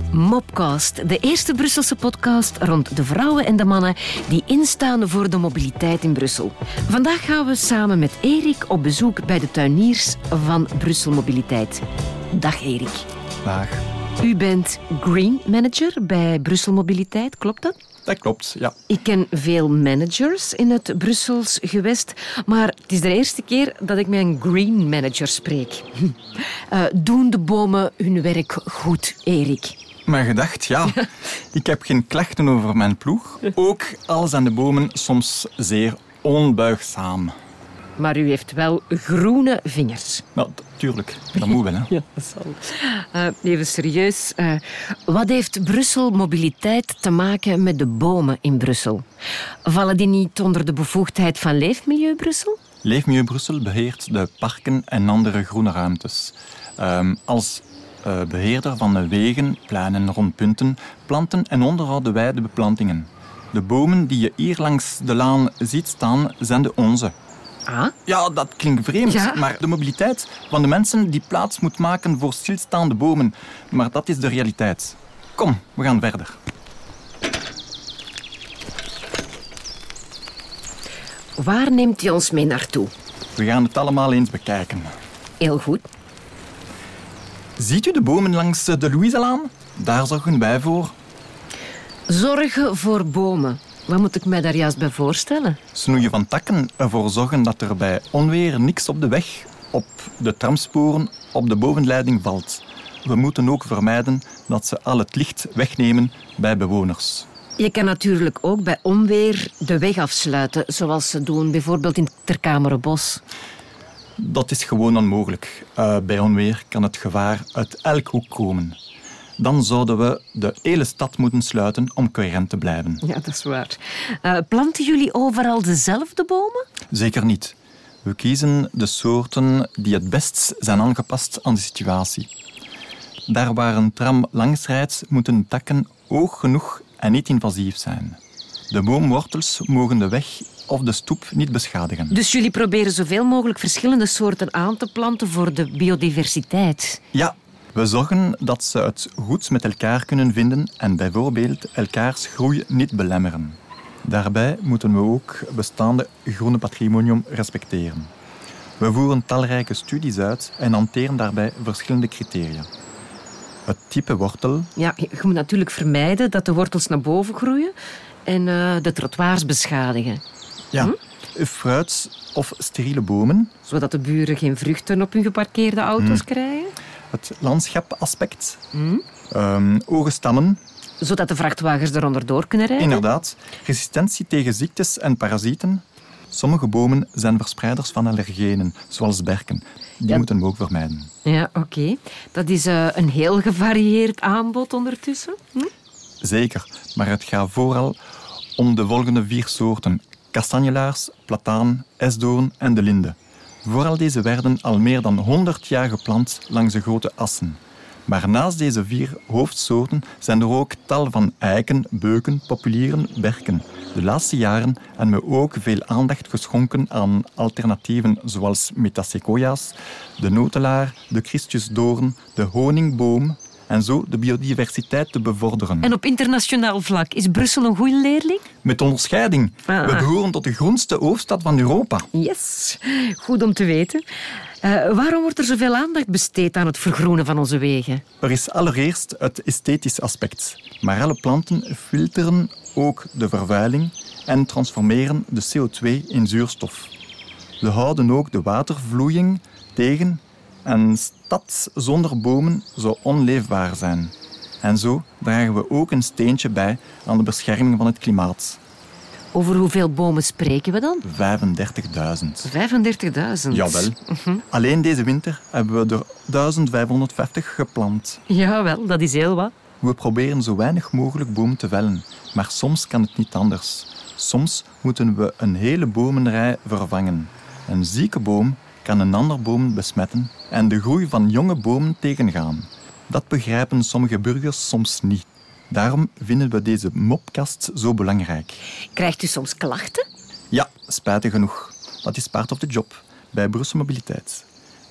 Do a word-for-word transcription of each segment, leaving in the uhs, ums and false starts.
Mopcast, de eerste Brusselse podcast rond de vrouwen en de mannen die instaan voor de mobiliteit in Brussel. Vandaag gaan we samen met Erik op bezoek bij de tuiniers van Brussel Mobiliteit. Dag Erik. Dag. U bent Green Manager bij Brussel Mobiliteit, klopt dat? Dat klopt, ja. Ik ken veel managers in het Brussels gewest, maar het is de eerste keer dat ik met een Green Manager spreek. Uh, doen de bomen hun werk goed, Erik? Maar gedacht, ja. Ik heb geen klachten over mijn ploeg. Ook al zijn de bomen soms zeer onbuigzaam. Maar u heeft wel groene vingers. Nou, tuurlijk. Dat moet wel, hè. Ja, dat zal. Uh, even serieus. Uh, wat heeft Brussel Mobiliteit te maken met de bomen in Brussel? Vallen die niet onder de bevoegdheid van Leefmilieu Brussel? Leefmilieu Brussel beheert de parken en andere groene ruimtes. Um, als uh, beheerder van de wegen, pleinen en rondpunten planten en onderhouden wij de beplantingen. De bomen die je hier langs de laan ziet staan, zijn de onze. Ah? Ja, dat klinkt vreemd, Ja. maar de mobiliteit van de mensen die plaats moet maken voor stilstaande bomen. Maar dat is de realiteit. Kom, we gaan verder. Waar neemt u ons mee naartoe? We gaan het allemaal eens bekijken. Heel goed. Ziet u de bomen langs de Louiselaan? Daar zorgen wij voor. Zorgen voor bomen. Wat moet ik mij daar juist bij voorstellen? Snoeien van takken, ervoor zorgen dat er bij onweer niks op de weg, op de tramsporen, op de bovenleiding valt. We moeten ook vermijden dat ze al het licht wegnemen bij bewoners. Je kan natuurlijk ook bij onweer de weg afsluiten, zoals ze doen bijvoorbeeld in Terkamerenbos. Dat is gewoon onmogelijk. Uh, bij onweer kan het gevaar uit elk hoek komen. Dan zouden we de hele stad moeten sluiten om coherent te blijven. Ja, dat is waar. Uh, planten jullie overal dezelfde bomen? Zeker niet. We kiezen de soorten die het best zijn aangepast aan de situatie. Daar waar een tram langs rijdt, moeten de takken hoog genoeg en niet invasief zijn. De boomwortels mogen de weg of de stoep niet beschadigen. Dus jullie proberen zoveel mogelijk verschillende soorten aan te planten voor de biodiversiteit? Ja. We zorgen dat ze het goed met elkaar kunnen vinden en bijvoorbeeld elkaars groei niet belemmeren. Daarbij moeten we ook bestaande groene patrimonium respecteren. We voeren talrijke studies uit en hanteren daarbij verschillende criteria. Het type wortel. Ja, je moet natuurlijk vermijden dat de wortels naar boven groeien en uh, de trottoirs beschadigen. Ja, hm? fruit of steriele bomen. Zodat de buren geen vruchten op hun geparkeerde auto's hm. krijgen. Het landschapaspect. Hm? Um, hoge stammen. Zodat de vrachtwagens er onderdoor kunnen rijden. Inderdaad. Resistentie tegen ziektes en parasieten. Sommige bomen zijn verspreiders van allergenen, zoals berken. Die ja. moeten we ook vermijden. Ja, oké. Okay. Dat is uh, een heel gevarieerd aanbod ondertussen. Hm? Zeker, maar het gaat vooral om de volgende vier soorten. Kastanjelaars, plataan, esdoorn en de linde. Vooral deze werden al meer dan honderd jaar geplant langs de grote assen. Maar naast deze vier hoofdsoorten zijn er ook tal van eiken, beuken, populieren, berken. De laatste jaren hebben we ook veel aandacht geschonken aan alternatieven zoals metasequoia's, de notelaar, de Christusdoorn, de honingboom en zo de biodiversiteit te bevorderen. En op internationaal vlak, is Brussel een goede leerling? Met onderscheiding. Ah. We behoren tot de groenste hoofdstad van Europa. Yes, goed om te weten. Uh, waarom wordt er zoveel aandacht besteed aan het vergroenen van onze wegen? Er is allereerst het esthetisch aspect. Maar alle planten filteren ook de vervuiling en transformeren de C O twee in zuurstof. We houden ook de watervloeiing tegen. Een stad zonder bomen zou onleefbaar zijn. En zo dragen we ook een steentje bij aan de bescherming van het klimaat. Over hoeveel bomen spreken we dan? vijfendertigduizend. vijfendertigduizend? Jawel. Uh-huh. Alleen deze winter hebben we er duizend vijfhonderdvijftig geplant. Jawel, dat is heel wat. We proberen zo weinig mogelijk bomen te vellen. Maar soms kan het niet anders. Soms moeten we een hele bomenrij vervangen. Een zieke boom kan een ander boom besmetten en de groei van jonge bomen tegengaan. Dat begrijpen sommige burgers soms niet. Daarom vinden we deze mopcast zo belangrijk. Krijgt u soms klachten? Ja, spijtig genoeg. Dat is part of the job bij Brussel Mobiliteit.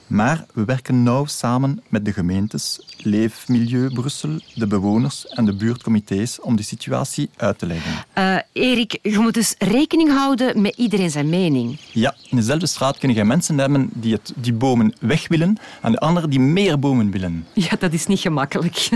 Maar we werken nauw samen met de gemeentes, Leefmilieu Brussel, de bewoners en de buurtcomité's om de situatie uit te leggen. Uh, Erik, je moet dus rekening houden met iedereen zijn mening. Ja, in dezelfde straat kun je mensen hebben die, het, die bomen weg willen en de anderen die meer bomen willen. Ja, dat is niet gemakkelijk.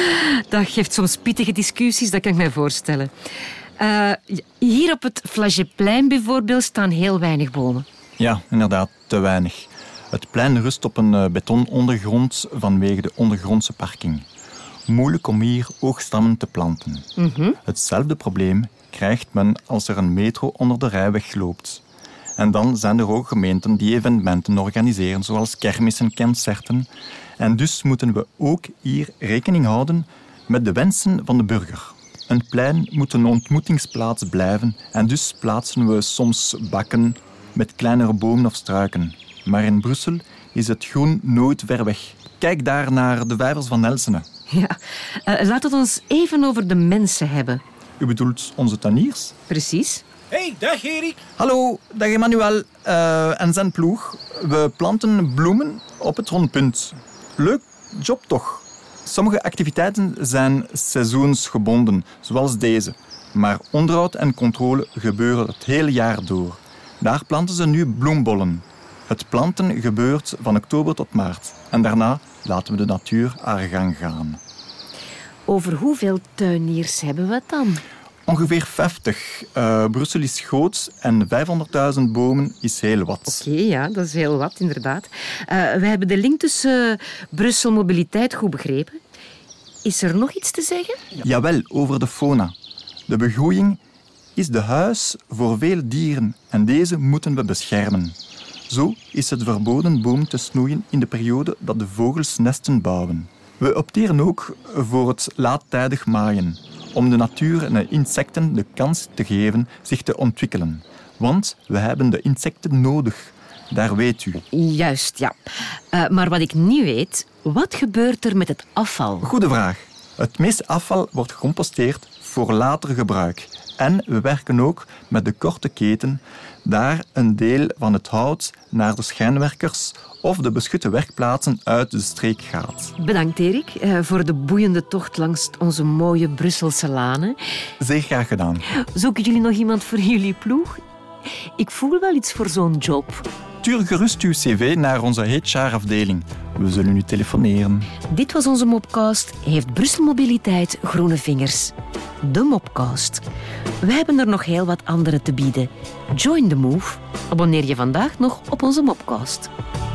Dat geeft soms pittige discussies, dat kan ik mij voorstellen. Uh, hier op het Flageplein bijvoorbeeld staan heel weinig bomen. Ja, inderdaad, te weinig. Het plein rust op een betonondergrond vanwege de ondergrondse parking. Moeilijk om hier oogstammen te planten. Mm-hmm. Hetzelfde probleem krijgt men als er een metro onder de rijweg loopt. En dan zijn er ook gemeenten die evenementen organiseren, zoals kermissen, concerten. En dus moeten we ook hier rekening houden met de wensen van de burger. Een plein moet een ontmoetingsplaats blijven en dus plaatsen we soms bakken met kleinere bomen of struiken. Maar in Brussel is het groen nooit ver weg. Kijk daar naar de vijvers van Elsene. Ja, uh, laten we het ons even over de mensen hebben. U bedoelt onze tuiniers? Precies. Hey, dag Erik. Hallo, dag Emmanuel uh, en zijn ploeg. We planten bloemen op het rondpunt. Leuk job toch? Sommige activiteiten zijn seizoensgebonden, zoals deze. Maar onderhoud en controle gebeuren het hele jaar door. Daar planten ze nu bloembollen. Het planten gebeurt van oktober tot maart. En daarna laten we de natuur haar gang gaan. Over hoeveel tuiniers hebben we het dan? Ongeveer vijftig. Uh, Brussel is groot en vijfhonderdduizend bomen is heel wat. Oké, okay, ja, dat is heel wat, inderdaad. Uh, we hebben de link tussen uh, Brussel Mobiliteit goed begrepen. Is er nog iets te zeggen? Ja. Jawel, over de fauna. De begroeiing is de huis voor veel dieren en deze moeten we beschermen. Zo is het verboden boom te snoeien in de periode dat de vogels nesten bouwen. We opteren ook voor het laattijdig maaien, om de natuur en de insecten de kans te geven zich te ontwikkelen. Want we hebben de insecten nodig, daar weet u. Juist, ja. Uh, maar wat ik niet weet, wat gebeurt er met het afval? Goeie vraag. Het meeste afval wordt gecomposteerd voor later gebruik. En we werken ook met de korte keten, daar een deel van het hout naar de schijnwerkers of de beschutte werkplaatsen uit de streek gaat. Bedankt, Erik, voor de boeiende tocht langs onze mooie Brusselse lanen. Zeer graag gedaan. Zoeken jullie nog iemand voor jullie ploeg? Ik voel wel iets voor zo'n job. Stuur gerust uw cv naar onze H R-afdeling. We zullen u telefoneren. Dit was onze Mopcast. Heeft Brussel Mobiliteit groene vingers? De Mopcast. We hebben er nog heel wat andere te bieden. Join the move. Abonneer je vandaag nog op onze Mopcast.